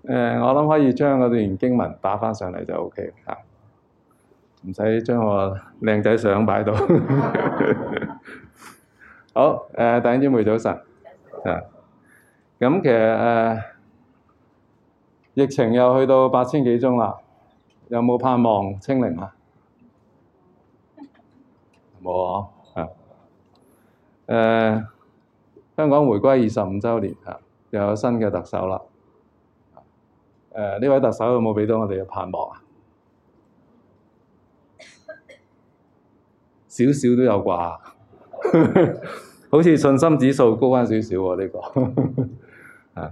我諗可以將嗰段經文打返上嚟就 OK 嚇，唔使將我靚仔相擺到。好，弟兄姊妹早晨。咁其實疫情又去到8000幾宗啦，有冇盼望清零啊？冇啊！香港回歸25週年嚇，又有新嘅特首啦。呢位特首有冇俾到我哋嘅盼望啊？少少都有啩，好似信心指數高返少少喎呢個。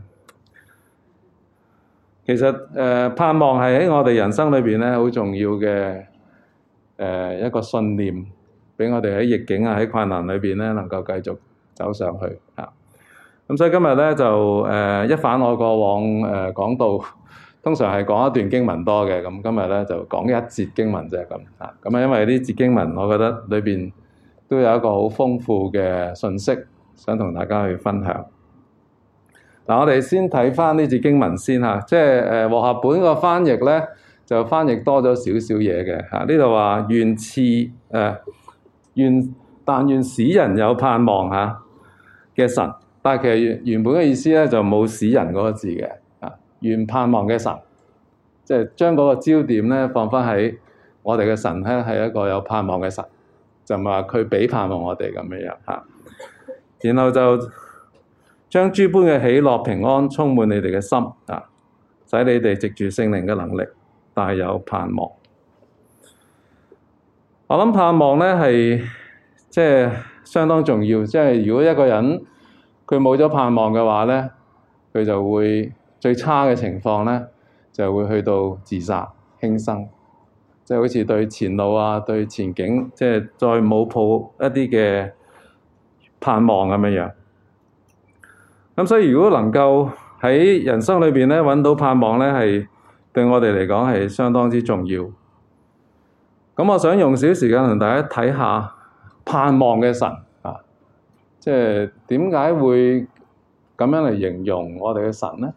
其實盼望係喺我哋人生裏邊咧好重要嘅一個信念，俾我哋喺逆境啊喺困難裏邊咧能夠繼續走上去嚇。咁所以今日咧就一反我過往講道，通常係講一段經文多嘅，咁今日咧就講一節經文啫咁嚇。咁啊，因為呢節經文，我覺得裏邊都有一個好豐富嘅信息，想同大家去分享。嗱，我哋先睇翻呢節經文先嚇，即係和合本個翻譯咧就翻譯多咗少少嘢嘅嚇。呢度話但願使人有盼望嚇嘅神。但係其實原本嘅意思咧就冇使人嗰個字嘅，願盼望嘅神，即係將嗰個焦點咧放翻喺我哋嘅神咧係一個有盼望嘅神，就唔係話佢俾盼望我哋咁樣嚇。然後就將諸般嘅喜樂平安充滿你哋嘅心啊，使你哋藉住聖靈嘅能力大有盼望。我諗盼望咧係即係相當重要，即係如果一個人佢冇咗盼望嘅話咧，佢就會最差嘅情況咧，就會去到自殺輕生，即係好似對前路啊、對前景，即係再冇抱一啲嘅盼望咁樣樣。咁所以如果能夠喺人生裏邊咧揾到盼望咧，係對我哋嚟講係相當之重要。咁我想用少時間同大家睇下盼望嘅神。即係點解會咁樣嚟形容我哋嘅神咧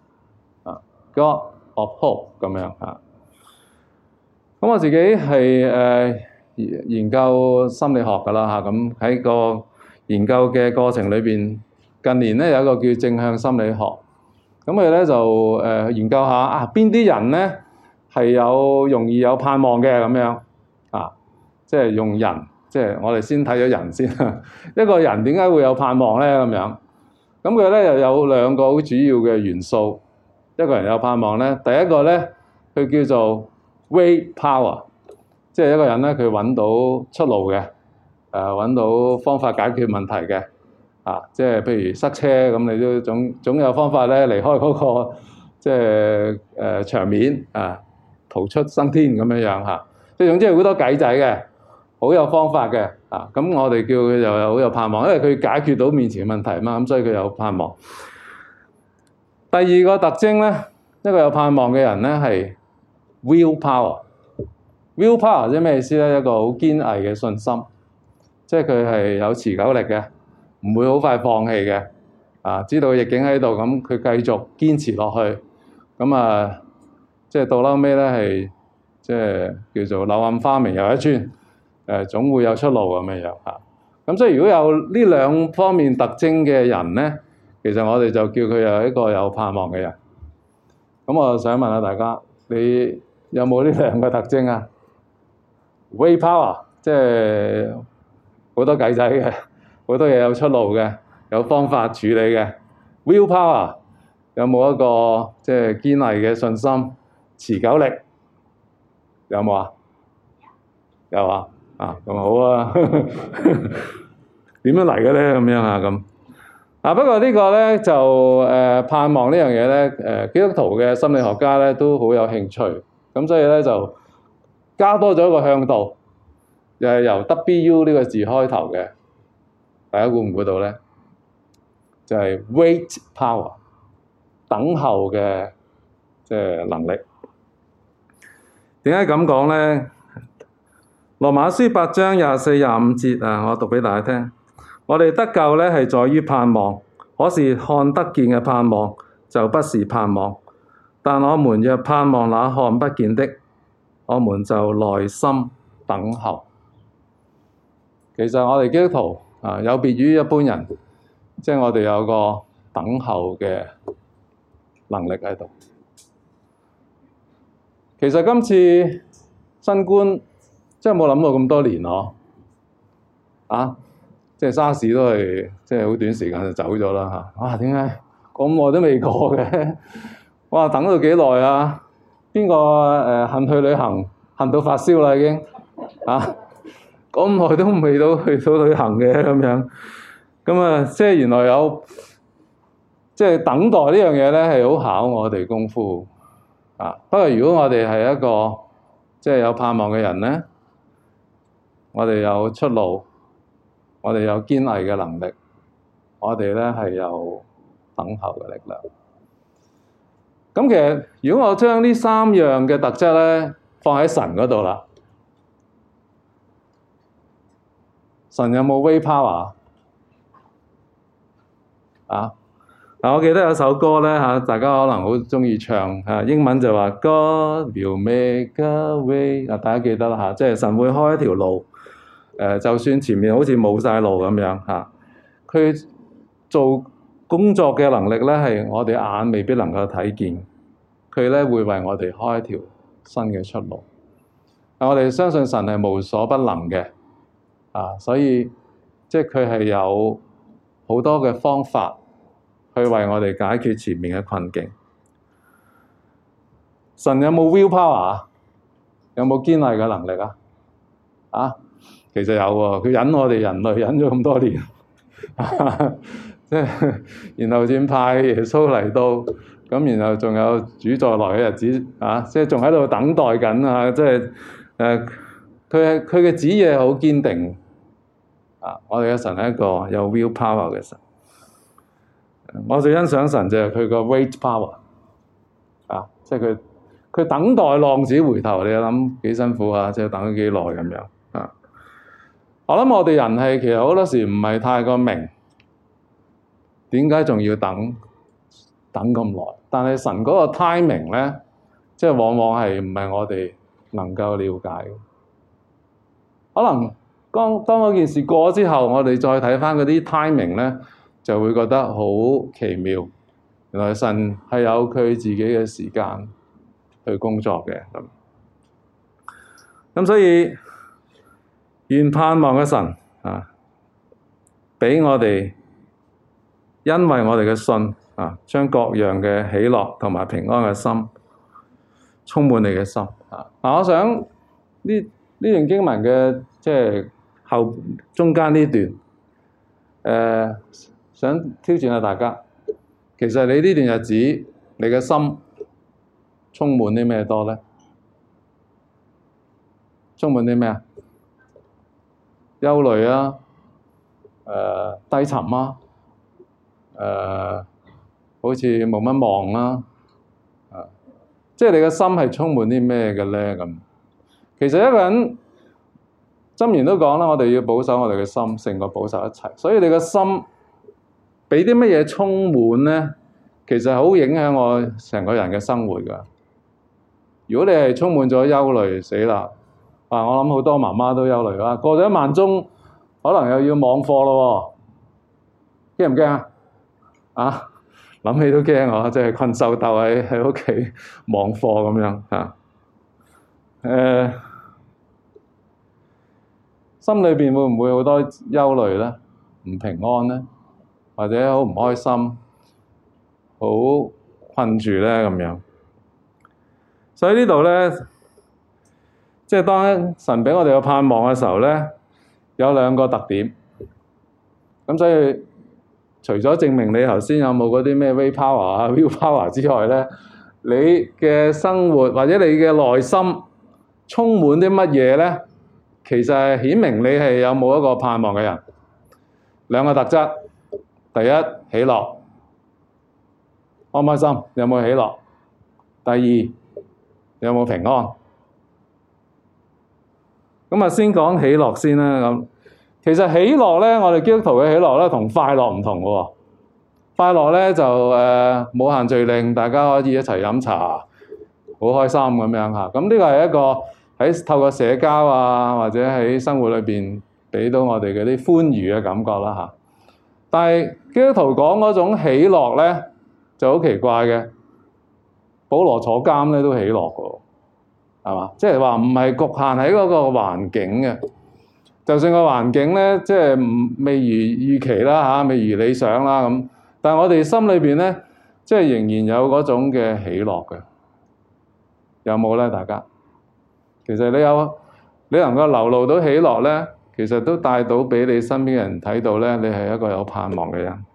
？God of Hope 咁樣嚇。咁我自己係研究心理學㗎啦嚇。咁喺個研究嘅過程裏邊，近年咧有一個叫正向心理學。咁佢咧就研究下邊啲人咧係有容易有盼望嘅咁樣啊，即係用人。即係我哋先睇咗人先，一個人點解會有盼望咧？咁樣，咁佢咧又有兩個好主要嘅元素，一個人有盼望咧。第一個咧，佢叫做 way power， 即係一個人咧佢揾到出路嘅，揾到方法解決問題嘅，即係譬如塞車咁，你都總有方法咧離開嗰個即係場面逃出生天咁樣樣嚇。即係總之係好多計仔嘅。好有方法嘅，咁我哋叫佢又有好有盼望，因為佢解決到面前嘅問題嘛，咁所以佢有盼望。第二個特徵咧，一個有盼望嘅人咧係 will power。will power 即係咩意思咧？一個好堅毅嘅信心，即係佢係有持久力嘅，唔會好快放棄嘅。知道逆境喺度，咁佢繼續堅持落去，咁即係到撈尾咧係即係叫做柳暗花明又一村。總會有出路咁樣嚇。咁所以如果有呢兩方面特徵嘅人咧，其實我哋就叫佢有一個有盼望嘅人。咁我想問下大家，你有冇呢兩個特徵啊？Way power 即係好多計仔嘅，好多嘢有出路嘅，有方法處理嘅。Will power 有冇一個即係堅毅嘅信心、持久力？有冇啊？有啊。咁好啊，點樣嚟嘅咧？咁樣咁。不過呢個咧就盼望呢樣嘢咧，基督徒嘅心理學家咧都好有興趣，咁所以咧就加多咗一個向度，又係由 WU 呢個字開頭嘅，大家估唔估到咧？就係 wait power， 等候嘅即係能力。點解咁講咧？羅馬書8章24、25節我讀俾大家聽。我哋得救咧係在於盼望，可是看得見嘅盼望就不是盼望。 但我們若盼望那看不見的，我們就耐心等候。其實我哋基督徒有別於一般人，即係我哋有個等候嘅能力喺度。其實今次新冠即係冇諗過咁多年咯，即係沙士都係即係好短時間就走咗啦嚇。哇！點解咁耐都未過嘅？哇！等到幾耐啊？邊個恨去旅行，恨到發燒啦已經咁耐都未到去到旅行嘅咁樣。咁啊，即係原來有即係等待呢樣嘢咧，係好考我哋功夫不過如果我哋係一個即係有盼望嘅人咧，我哋有出路，我哋有堅毅嘅能力，我哋咧係有等候嘅力量。咁其實如果我將呢三樣嘅特質咧放喺神嗰度啦，神有冇 will power 我記得有首歌咧大家可能好鍾意唱英文就話 God will make a way 大家記得啦即係神會開一條路就算前面好似冇晒路咁樣佢做工作嘅能力咧係我哋眼未必能夠睇見，佢咧會為我哋開一條新嘅出路。我哋相信神係無所不能嘅所以即係佢係有好多嘅方法去為我哋解決前面嘅困境。神有冇 will power 有冇堅毅嘅能力其實有喎，佢忍我哋人類忍咗咁多年，即係然後先派耶穌嚟到，咁然後仲有主再來嘅日子即係仲喺度等待緊即係佢嘅旨意係好堅定我哋嘅神係一個有 will power 嘅神。我最欣賞神就係佢個 wait power 即係佢等待浪子回頭，你諗幾辛苦即係等咗幾耐咁樣我諗我哋人係其實好多時唔係太過明點解仲要等咁耐，但係神嗰個 timing 咧，即係往往係唔係我哋能夠了解嘅。可能當嗰件事過咗之後，我哋再睇返嗰啲 timing 咧，就會覺得好奇妙。原來神係有佢自己嘅時間去工作嘅咁所以願盼望嘅神畀我哋，因為我哋嘅信將各樣嘅喜樂同埋平安嘅心充滿你嘅心我想呢段經文嘅即係中間呢段想挑戰下大家，其實你呢段日子你嘅心充滿啲咩多咧？充滿啲咩憂慮低沉好似冇乜望啦即係你嘅心係充滿啲咩嘅咧？咁其實一個人箴言都講啦，我哋要保守我哋嘅心勝過保守一切，所以你嘅心畀啲乜嘢充滿咧，其實好影響我成個人嘅生活㗎。如果你係充滿咗憂慮，死啦！我諗好多媽媽都憂慮啦，過咗1萬鐘，可能又要網課咯喎，驚唔驚諗起都驚即係困獸鬥喺屋企網課咁樣心裏邊會唔會好多憂慮咧？唔平安咧，或者好唔開心，好困住咧咁樣。所以呢度咧，即係當神畀我哋有盼望嘅時候咧，有2個特點。咁所以除咗證明你頭先有冇嗰啲咩 will power will power 之外咧，你嘅生活或者你嘅內心充滿啲乜嘢咧？其實係顯明你係有冇一個盼望嘅人。2個特質，第一，喜樂，開唔開心？有冇喜樂？第二，有冇平安？咁先講喜樂先啦。咁其實喜樂咧，我哋基督徒嘅喜樂咧，同快樂唔同嘅喎。 快樂咧就冇限聚令，大家可以一齊飲茶，好開心咁樣嚇。咁呢個係一個喺透過社交啊，或者喺生活裏邊俾到我哋嗰啲歡愉嘅感覺啦嚇。但係基督徒講嗰種喜樂咧就好奇怪嘅。保羅坐監咧都喜樂嘅，係嘛？即係話唔係局限喺嗰個環境嘅，就算個環境咧即係未如預期啦嚇，未如理想啦咁，但係我哋心裏邊咧即係仍然有嗰種嘅喜樂嘅，有冇咧？大家其實你能夠流露到喜樂咧，其實都帶到俾你身邊嘅人睇到咧，你係一個有盼望嘅人。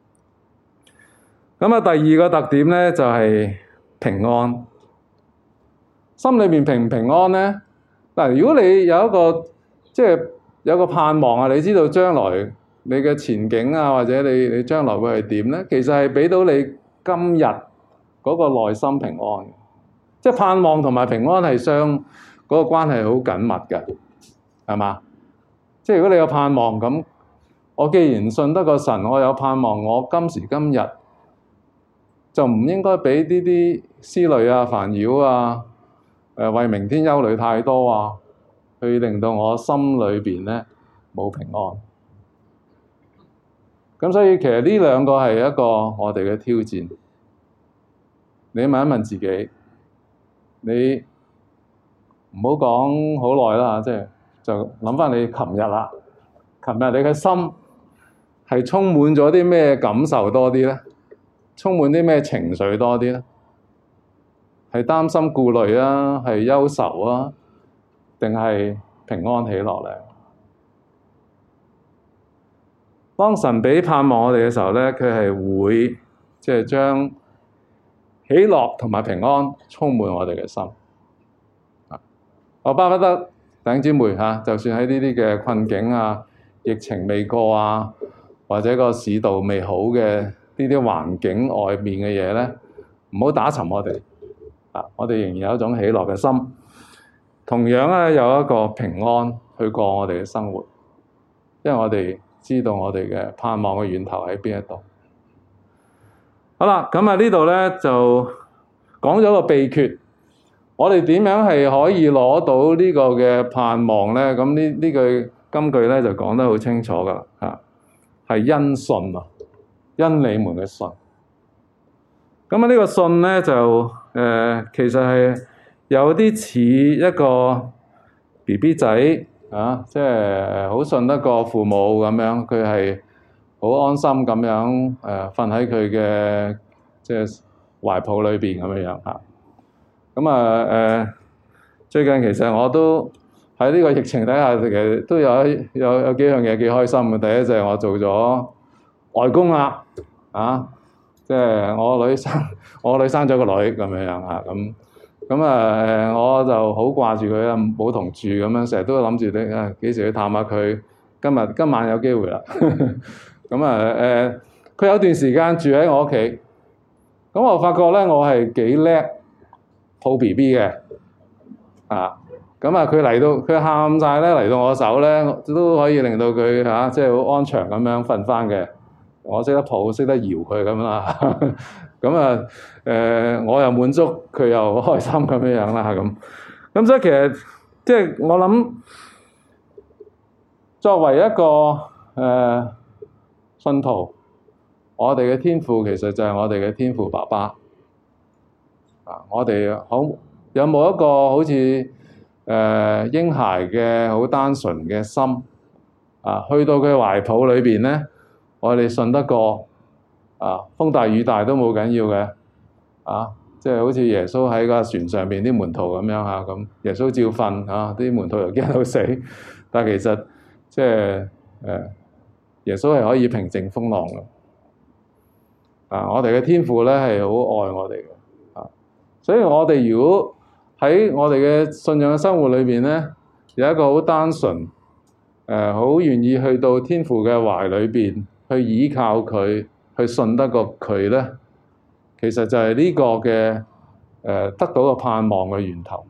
咁啊，第二個特點咧就係平安。心裏面平唔平安咧？嗱，如果你有一個即係有個盼望啊，你知道將來你嘅前景啊，或者你將來會係點咧？其實係俾到你今日嗰個內心平安。即係盼望同埋平安係嗰個關係好緊密嘅，係嘛？即係如果你有盼望咁，我既然信得個神，我有盼望，我今時今日就唔應該俾呢啲思慮啊、煩擾啊、為明天憂慮太多啊，去令到我心裏邊咧冇平安。咁所以其實呢兩個係一個我哋嘅挑戰。你問一問自己，你唔好講好耐啦，即係就諗翻你琴日啦。琴日你嘅心係充滿咗啲咩感受多啲咧？充滿啲咩情緒多啲咧？係擔心顧慮啊，係憂愁啊，定係平安喜樂咧？當神俾盼望我哋嘅時候咧，佢係會即係將喜樂同埋平安充滿我哋嘅心。我巴不得弟兄姊妹嚇，就算喺呢啲嘅困境啊、疫情未過啊，或者個市道未好嘅呢啲環境外面嘅嘢咧，唔好打沉我哋。我哋仍然有一種喜樂嘅心，同樣咧有一個平安去過我哋嘅生活，因為我哋知道我哋嘅盼望嘅源頭喺邊一度。好啦，咁啊呢度咧就講咗個秘訣，我哋點樣係可以攞到呢個嘅盼望咧？咁呢句金句咧就講得好清楚噶啦，係因信啊，因你們嘅信。咁啊呢個信咧就其實係有啲似一個 BB 仔啊，即係好信得過父母咁樣，佢係好安心咁樣瞓喺佢嘅即係懷抱裏邊咁樣嚇。咁最近其實我都喺呢個疫情底下，其實都有幾樣嘢幾開心嘅。第一就係我做咗外公啦，即係我女生咗個女咁樣嚇，咁我就好掛住佢啊，冇同住咁樣，成日都諗住你幾時去探下佢。今晚有機會啦。咁佢有段時間住喺我屋企，咁我發覺咧我係幾叻抱 BB 嘅咁佢嚟到佢喊晒咧，嚟到我手咧都可以令到佢即係好安詳咁樣瞓翻嘅。我識得抱，識得搖佢咁啦。我又滿足，佢又開心咁樣啦咁所以其實即係我諗，作為一個信徒，我哋嘅天父其實就係我哋嘅天父爸爸。我哋有冇一個好似嬰孩嘅好單純嘅心去到佢懷抱裏邊咧？我哋信得過風大雨大都冇緊要嘅即係好似耶穌喺個船上邊啲門徒咁樣咁耶穌照瞓啲門徒又驚到死，但係其實即係耶穌係可以平靜風浪嘅我哋嘅天父咧係好愛我哋嘅所以我哋如果喺我哋嘅信仰嘅生活裏邊咧，有一個好單純好願意去到天父嘅懷裏邊。去依靠佢，去信得過佢咧，其實就係呢個嘅得到個盼望嘅源頭。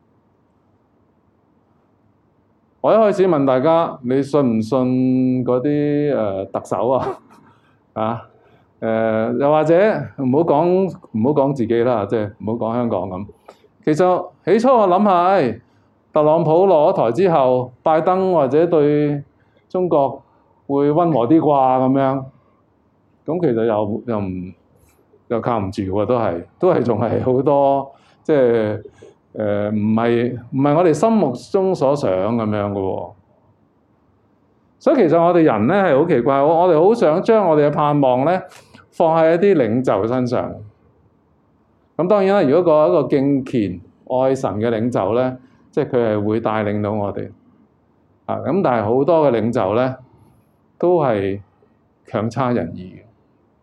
我一開始問大家，你信唔信嗰啲特首又或者唔好講自己啦，即係唔好講香港咁。其實起初我諗下，特朗普落咗台之後，拜登或者對中國會溫和啲啩咁樣。咁其實又靠唔住喎，都係仲係好多即係唔係我哋心目中所想咁樣嘅喎。所以其實我哋人咧係好奇怪，我哋好想將我哋嘅盼望咧放喺一啲領袖身上。咁當然啦，如果一個敬虔愛神嘅領袖咧，即係佢係會帶領到我哋。咁但係好多嘅領袖咧都係強差人意嘅。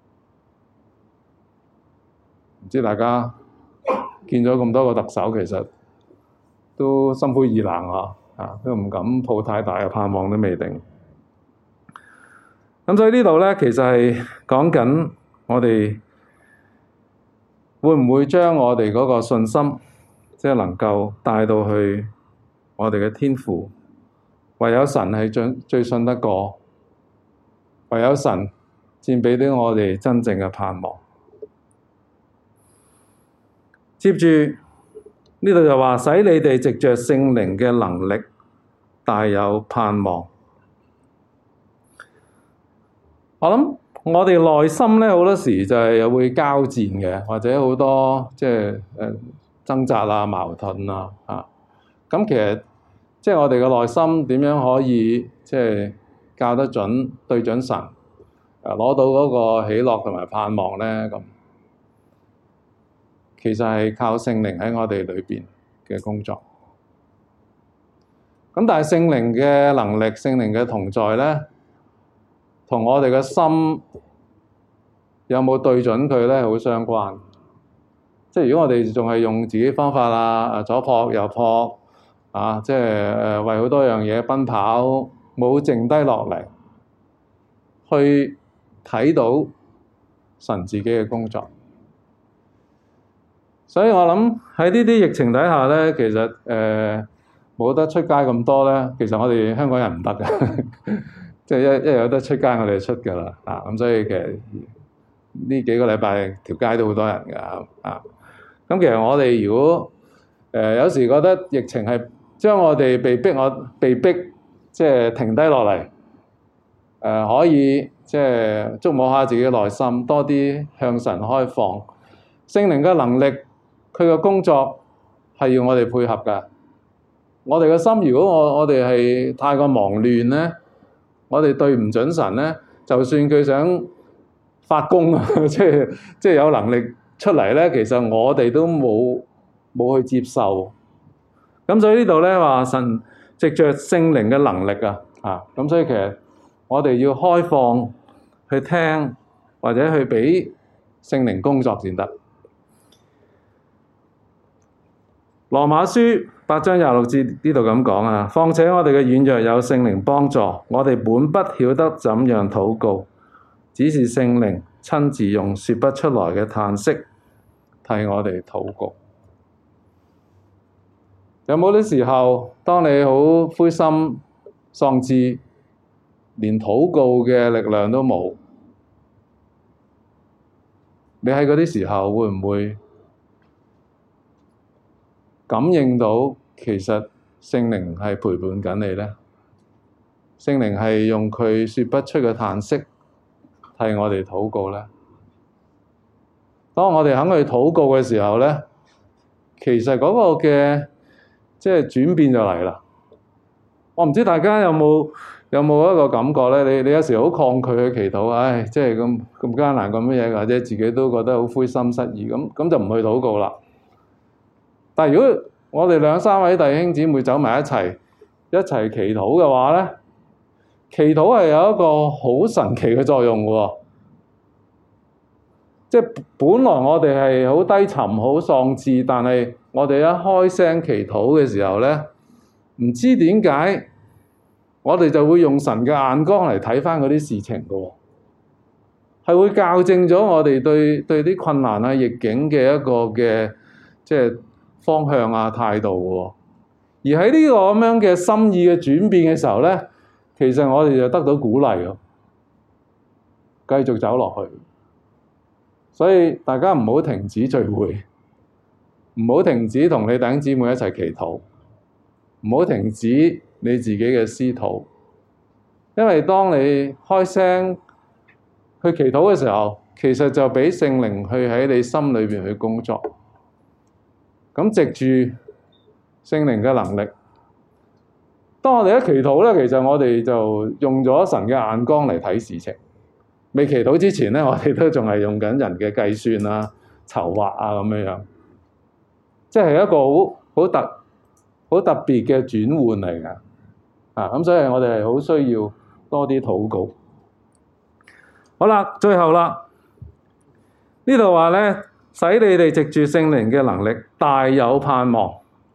唔知大家見咗咁多個特首，其實都心灰意冷都唔敢抱太大嘅盼望都未定。咁所以呢度咧，其實係講緊我哋會唔會將我哋嗰個信心，即係能夠帶到去我哋嘅天父。唯有神係最信得過，唯有神先俾到我哋真正嘅盼望。接住呢度就話，使你哋藉着聖靈嘅能力大有盼望。我諗我哋內心咧好多時就係又會交戰嘅，或者好多即係掙扎啊、矛盾啊咁其實即係我哋嘅內心點樣可以即係校得準、對準神，攞到嗰個喜樂同埋盼望咧咁。其實係靠聖靈喺我哋裏邊嘅工作。咁但係聖靈嘅能力、聖靈嘅同在咧，同我哋嘅心有冇對準佢咧，好相關。即係如果我哋仲係用自己方法啦，左撲右撲即係為好多樣嘢奔跑，冇剩低落嚟去睇到神自己嘅工作。所以我諗喺呢啲疫情底下咧，其實冇得出街咁多咧。其實我哋香港人唔得嘅，即係一有得出街，我哋就出㗎啦。咁所以其實呢幾個禮拜條街都好多人㗎。咁其實我哋如果有時覺得疫情係將我哋被逼即係停低落嚟，可以即係觸摸下自己嘅內心，多啲向神開放。聖靈嘅能力，佢嘅工作係要我哋配合㗎。我哋嘅心，如果我哋係太過忙亂咧，我哋對唔準神咧，就算佢想發功即係有能力出嚟咧，其實我哋都冇去接受。咁所以呢度咧話神藉着聖靈嘅能力咁所以其實我哋要開放去聽，或者去俾聖靈工作先得。羅馬書8章26節呢度咁講況且我哋嘅軟弱有聖靈幫助，我哋本不曉得怎樣禱告，只是聖靈親自用說不出來嘅嘆息替我哋禱告。有冇啲時候，當你好灰心喪志，連禱告嘅力量都冇，你喺嗰啲時候會唔會感應到其實聖靈係陪伴緊你咧？聖靈係用佢說不出嘅嘆息替我哋禱告咧。當我哋肯去禱告嘅時候咧，其實嗰個嘅即係轉變就嚟啦。我唔知大家有冇一個感覺咧？你有時好抗拒去祈禱，即係咁艱難咁乜嘢，或者自己都覺得好灰心失意，咁就唔去禱告啦。但係如果我哋兩三位弟兄姊妹走埋一齊祈禱嘅話咧，祈禱係有一個好神奇嘅作用喎。即係本來我哋係好低沉、好喪志，但係我哋一開聲祈禱嘅時候咧，唔知點解我哋就會用神嘅眼光嚟睇返嗰啲事情嘅喎，係會校正咗我哋對啲困難逆境嘅一個嘅即係方向態度喎。而喺呢個咁樣嘅心意嘅轉變嘅時候咧，其實我哋就得到鼓勵咯，繼續走落去。 所以大家唔好停止聚會，唔好停止同你弟兄姊妹一齊祈禱，唔好停止你自己嘅私禱。因為當你開聲去祈禱嘅時候，其實就俾聖靈去喺你心裏邊去工作。咁藉住聖靈嘅能力，當我哋一祈禱咧，其實我哋就用咗神嘅眼光嚟睇事情。未祈禱之前咧，我哋都仲係用緊人嘅計算啊、籌劃啊咁樣，即係一個好特別嘅轉換嚟㗎。咁所以我哋係好需要多啲禱告。好啦，最後啦，呢度話咧，使你哋藉住聖靈嘅能力，大有盼望。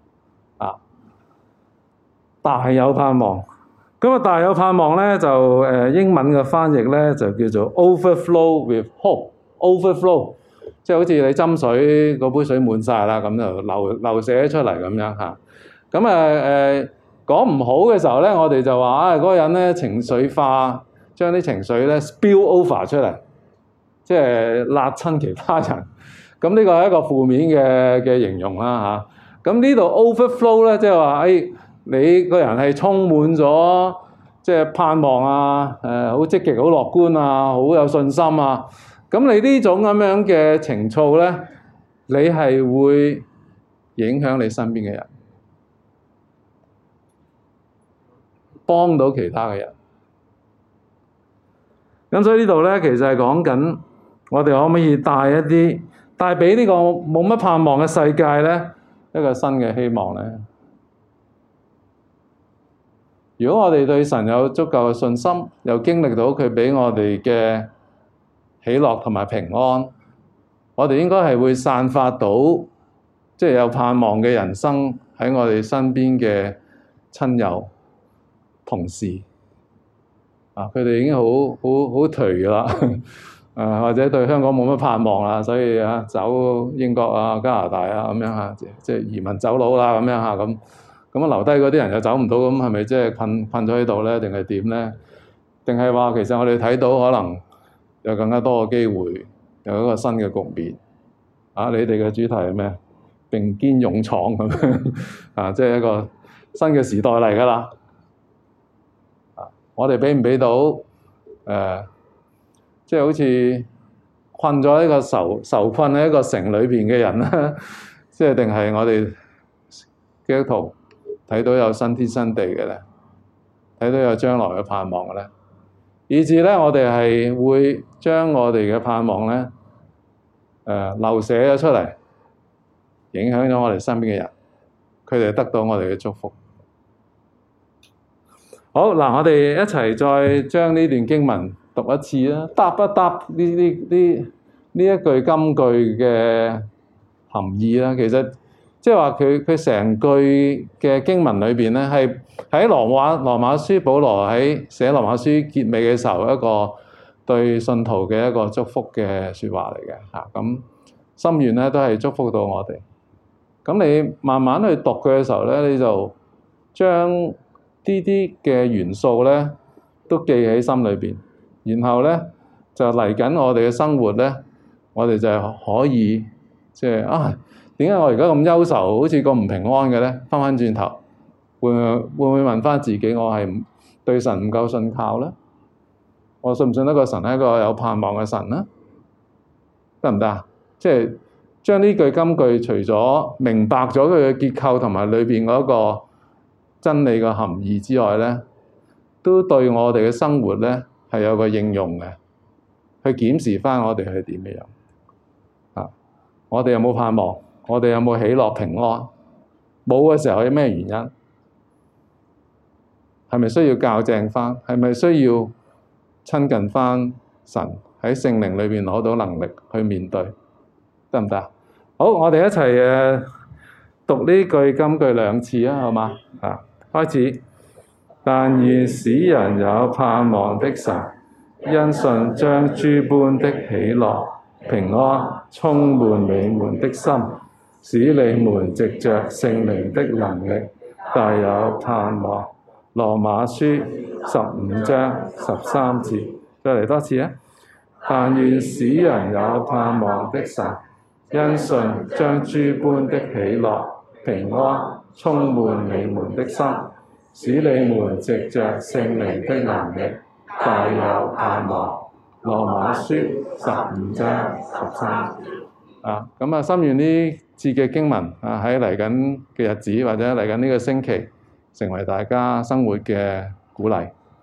大有盼望。咁啊，大有盼望咧，就英文嘅翻譯咧就叫做 overflow with hope。overflow 即係好似你斟水嗰杯水滿晒啦，咁就流瀉出嚟咁樣嚇。咁講唔好嘅時候咧，我哋就話嗰個人咧情緒化，將啲情緒咧 spill over 出嚟，即係辣親其他人。咁呢個係一個負面嘅形容啦嚇。咁呢度 overflow 咧，即係話你個人係充滿咗即係盼望啊，好積極、好樂觀啊，好有信心啊。咁你呢種咁樣嘅情操咧，你係會影響你身邊嘅人，幫到其他嘅人。咁所以呢度咧，其實係講緊我哋可唔可以帶俾呢個冇乜盼望嘅世界咧一個新嘅希望咧？如果我哋對神有足夠嘅信心，又經歷到佢俾我哋嘅喜樂同埋平安，我哋應該係會散發到即係有盼望嘅人生喺我哋身邊嘅親友、同事。佢哋已經好頹㗎啦，或者對香港冇乜盼望啦，所以走英國啊、加拿大啊咁樣即係移民走佬啦咁樣咁留低嗰啲人又走唔到，咁係咪即係困咗喺度咧？定係點咧？定係話其實我哋睇到可能有更加多嘅機會，有一個新嘅局面。你哋嘅主題係咩？並肩勇闖咁樣即係一個新嘅時代嚟㗎啦。我哋俾唔俾到即係好似困咗一個受困喺一個城裏邊嘅人咧？即係定係我哋基督徒睇到有新天新地嘅咧，睇到有將來嘅盼望嘅咧，以至咧我哋係會將我哋嘅盼望咧流瀉咗出嚟，影響咗我哋身邊嘅人，佢哋得到我哋嘅祝福。好嗱，我哋一齊再將呢段經文讀一次啦，答一答呢一句金句嘅含義啦。其實即係話佢成句嘅經文裏邊咧，係喺羅馬書保羅喺寫羅馬書結尾嘅時候一個對信徒嘅一個祝福嘅説話嚟嘅嚇。咁心願咧都係祝福到我哋。咁你慢慢去讀佢嘅時候咧，你就將啲嘅元素咧都記喺心裏邊，然後咧就嚟緊我哋嘅生活咧，我哋就可以即係點解我而家咁憂愁，好似咁唔平安嘅咧？翻返轉頭，會唔會問翻自己，我係對神唔夠信靠咧？我信唔信得過神係一個有盼望嘅神咧？得唔得啊？即係將呢句金句，除咗明白咗佢嘅結構同埋裏邊嗰個真理嘅含義之外咧，都對我哋嘅生活咧係有個應用嘅，去檢視翻我哋係點嘅樣。我哋有冇盼望？我哋有冇喜樂平安？冇嘅時候有咩原因？係咪需要校正翻？係咪需要親近翻神，喺聖靈裏邊攞到能力去面對？得唔得？好，我哋一齊讀呢句金句2次啊，好嗎？開始。但願使人有盼望的神，因信將諸般的喜樂、平安充滿你們的心，使你們藉着聖靈的能力大有盼望。羅馬書15章13節，再嚟多次啊！ 但願使人有盼望的神，因信將諸般的喜樂、平安充滿你們的心，使你們藉着聖靈的能力，大有盼望。羅馬書15章13啊，咁啊，心願呢節嘅經文啊，喺嚟緊嘅日子或者嚟緊呢個星期，成為大家生活嘅鼓勵。